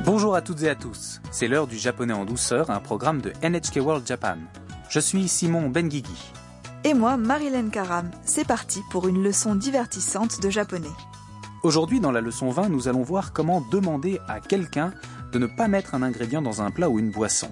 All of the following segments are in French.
Bonjour à toutes et à tous, c'est l'heure du japonais en douceur, un programme de NHK World Japan. Je suis Simon Benguigui. Et moi, Marilyn Karam. C'est parti pour une leçon divertissante de japonais. Aujourd'hui, dans la leçon 20, nous allons voir comment demander à quelqu'un de ne pas mettre un ingrédient dans un plat ou une boisson.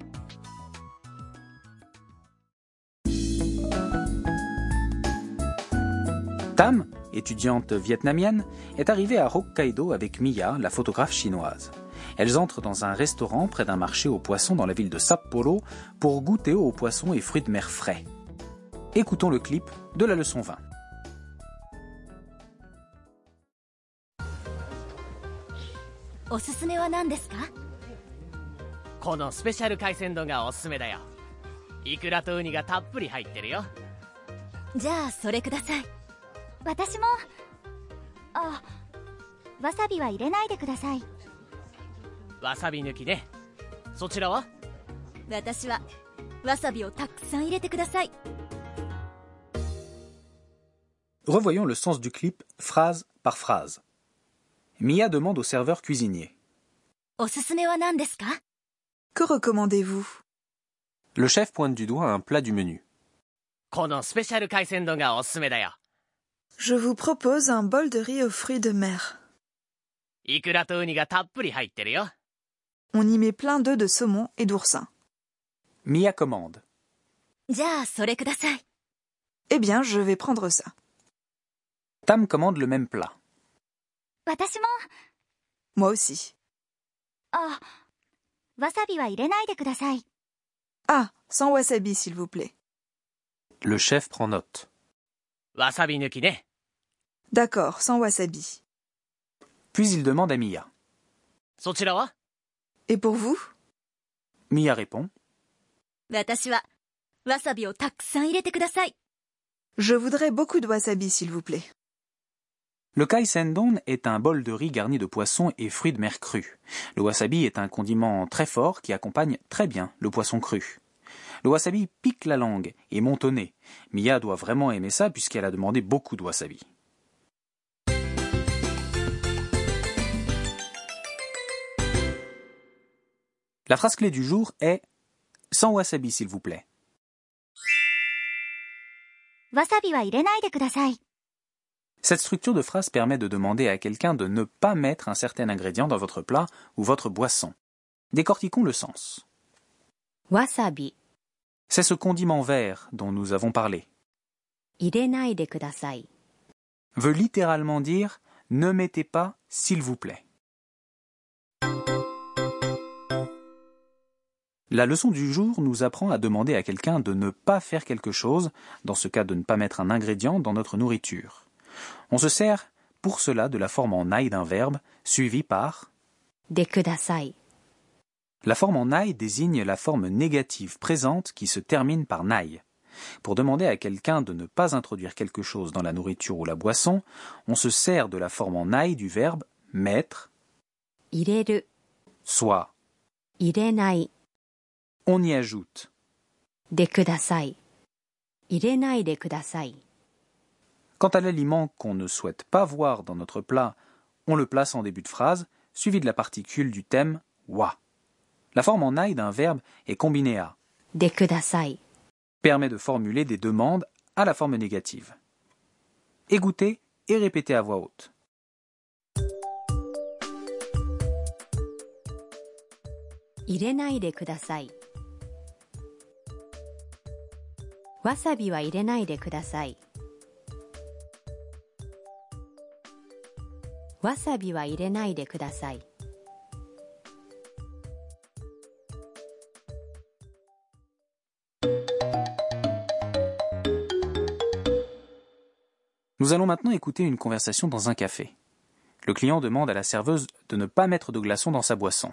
Tam, étudiante vietnamienne, est arrivée à Hokkaido avec Miya, la photographe chinoise. Elles entrent dans un restaurant près d'un marché aux poissons dans la ville de Sapporo pour goûter aux poissons et fruits de mer frais. Écoutons le clip de la leçon 20. おすすめは何ですか？ このスペシャル海鮮丼がおすすめだよ。イクラとウニがたっぷり入ってるよ。 じゃあそれください。 私も。あ、わさびは入れないでください。 わさび抜きね。そちらは？ 私はわさびをたくさん入れてください。 Revoyons le sens du clip phrase par phrase. Miya demande au serveur cuisinier. おすすめは何ですか？ Que recommandez-vous? Le chef pointe du doigt un plat du menu. このスペシャル海鮮丼がおすすめだよ。 Je vous propose un bol de riz aux fruits de mer. イクラとウニがたっぷり入ってるよ。 On y met plein d'œufs de saumon et d'oursin. Miya commande. じゃあそれください。 Eh bien, je vais prendre ça. Tam commande le même plat. 私も。 Moi aussi. あ、わさびは入れないでください。 Ah, sans wasabi, s'il vous plaît. Le chef prend note. わさび抜きね。 D'accord, sans wasabi. Puis il demande à Miya. そちらは？ Et pour vous? Miya répond. 私はわさびをたくさん入れてください。 Je voudrais beaucoup de wasabi, s'il vous plaît. Le kaisendon est un bol de riz garni de poissons et fruits de mer crus. Le wasabi est un condiment très fort qui accompagne très bien le poisson cru. Le wasabi pique la langue et monte au nez. Miya doit vraiment aimer ça puisqu'elle a demandé beaucoup de wasabi. La phrase clé du jour est « Sans wasabi, s'il vous plaît ». わさびは入れないでください。 Cette structure de phrase permet de demander à quelqu'un de ne pas mettre un certain ingrédient dans votre plat ou votre boisson. Décortiquons le sens. わさび C'est ce condiment vert dont nous avons parlé. 入れないでください。 Veut littéralement dire « ne mettez pas, s'il vous plaît ». La leçon du jour nous apprend à demander à quelqu'un de ne pas faire quelque chose, dans ce cas de ne pas mettre un ingrédient dans notre nourriture. On se sert pour cela de la forme en ai d'un verbe, suivi par でください。 La forme en ai désigne la forme négative présente qui se termine par nai. Pour demander à quelqu'un de ne pas introduire quelque chose dans la nourriture ou la boisson, on se sert de la forme en ai du verbe mettre, 入れる soit 入れない on y ajoute. でください。入れないでください。 Quant à l'aliment qu'on ne souhaite pas voir dans notre plat, on le place en début de phrase, suivi de la particule du thème wa. La forme en ai d'un verbe est combinée à でください。 permet de formuler des demandes à la forme négative. Écoutez et répétez à voix haute. 入れないでください。わさびは入れないでください。わさびは入れないでください。 Nous allons maintenant écouter une conversation dans un café. Le client demande à la serveuse de ne pas mettre de glaçons dans sa boisson.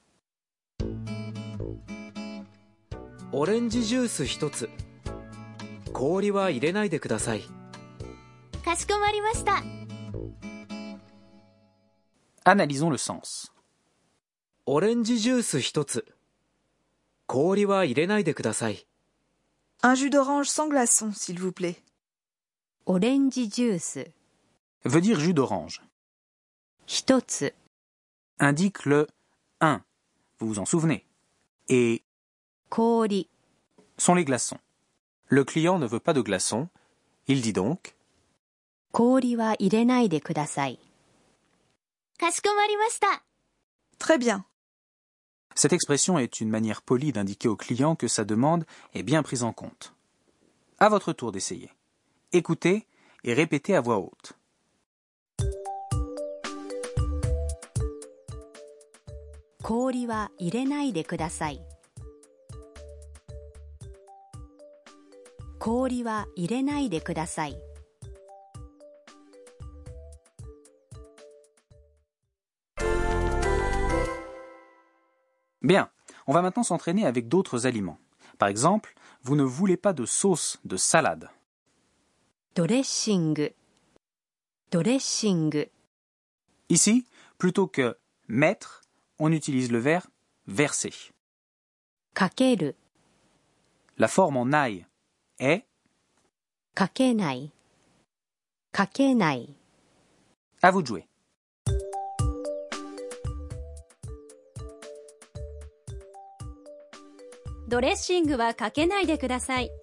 オレンジジュース一つ。氷は入れないでください。 かしこまりました。 Analysons le sens. オレンジジュース一つ。氷は入れないでください。 Un jus d'orange sans glaçons, s'il vous plaît. オレンジジュース veut dire jus d'orange. 一つ Indique le un, vous vous en souvenez, et 氷 sont les glaçons. Le client ne veut pas de glaçons, il dit donc 氷は入れないでください。 かしこまりました。 Très bien. Cette expression est une manière polie d'indiquer au client que sa demande est bien prise en compte. À votre tour d'essayer. Écoutez et répétez à voix haute. 氷は入れないでください。氷は入れないでください。 Bien, on va maintenant s'entraîner avec d'autres aliments. Par exemple, vous ne voulez pas de sauce de salade. ドレッシング、ドレッシング。 Ici, plutôt que mettre, on utilise le verbe verser. かける、 La forme en ail est かけない、かけない。 à vous de jouer. ドレッシングはかけないでください。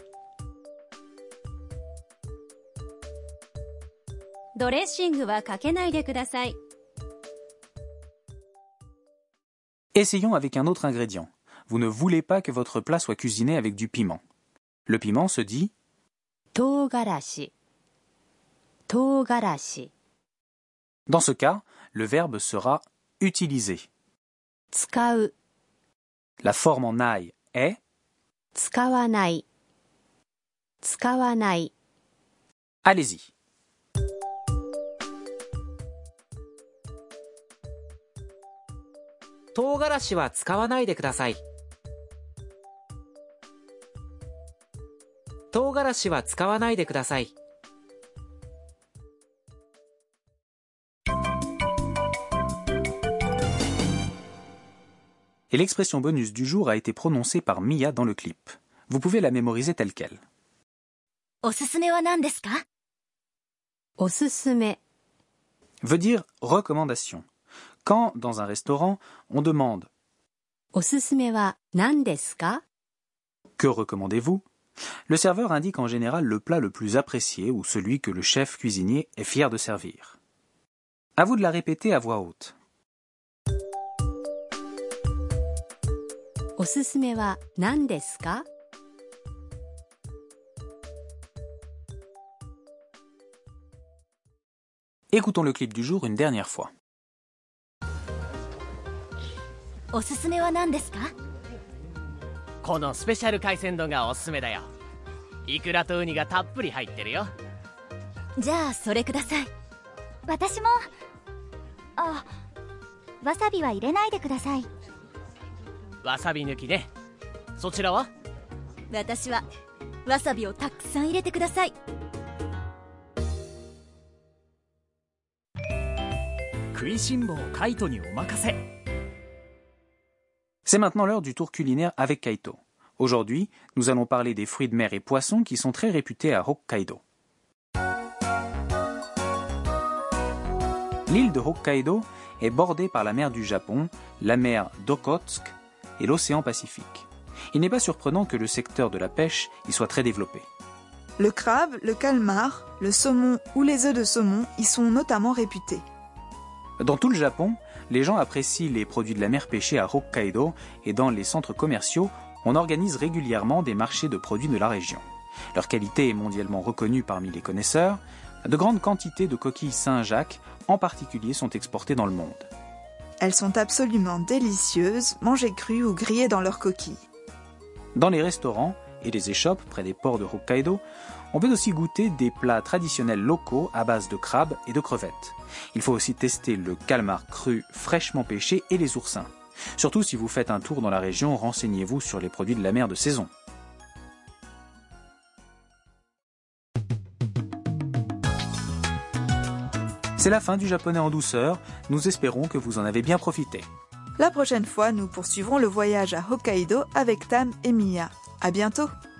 ドレッシングはかけないでください。 Essayons avec un autre ingrédient. Vous ne voulez pas que votre plat soit cuisiné avec du piment. Le piment se dit 唐辛子、唐辛子。 Dans ce cas, le verbe sera utiliser. 使う、 La forme en ail est 使わない、使わない。 allez-y. 唐辛子は使わないでください。唐辛子は使わないでください。 Et l'expression bonus du jour a été prononcée par Mia dans le clip. Vous pouvez la mémoriser telle quelle. おすすめは何ですか？ おすすめ、 Veut dire recommandation. Quand, dans un restaurant, on demande おすすめは何ですか？ que recommandez-vous, le serveur indique en général le plat le plus apprécié ou celui que le chef cuisinier est fier de servir. À vous de la répéter à voix haute. おすすめは何ですか？ Écoutons le clip du jour une dernière fois. おすすめは何ですか？ このスペシャル海鮮丼がおすすめだよ。イクラとウニがたっぷり入ってるよ。 じゃあそれください。 私も。あ、わさびは入れないでください。 わさび抜きね。そちらは？ 私はわさびをたくさん入れてください。 食いしん坊カイトにお任せ。 C'est maintenant l'heure du tour culinaire avec Kaito. Aujourd'hui, nous allons parler des fruits de mer et poissons qui sont très réputés à Hokkaido. L'île de Hokkaido est bordée par la mer du Japon, la mer d'Okhotsk et l'océan Pacifique. Il n'est pas surprenant que le secteur de la pêche y soit très développé. Le crabe, le calmar, le saumon ou les œufs de saumon y sont notamment réputés. Dans tout le Japon, les gens apprécient les produits de la mer pêchés à Hokkaido et dans les centres commerciaux, on organise régulièrement des marchés de produits de la région. Leur qualité est mondialement reconnue parmi les connaisseurs. De grandes quantités de coquilles Saint-Jacques, en particulier, sont exportées dans le monde. Elles sont absolument délicieuses, mangées crues ou grillées dans leurs coquilles. Dans les restaurants et les échoppes près des ports de Hokkaido, on peut aussi goûter des plats traditionnels locaux à base de crabes et de crevettes. Il faut aussi tester le calmar cru fraîchement pêché et les oursins. Surtout si vous faites un tour dans la région, renseignez-vous sur les produits de la mer de saison. C'est la fin du japonais en douceur. Nous espérons que vous en avez bien profité. La prochaine fois, nous poursuivrons le voyage à Hokkaido avec Tam et Mia. À bientôt!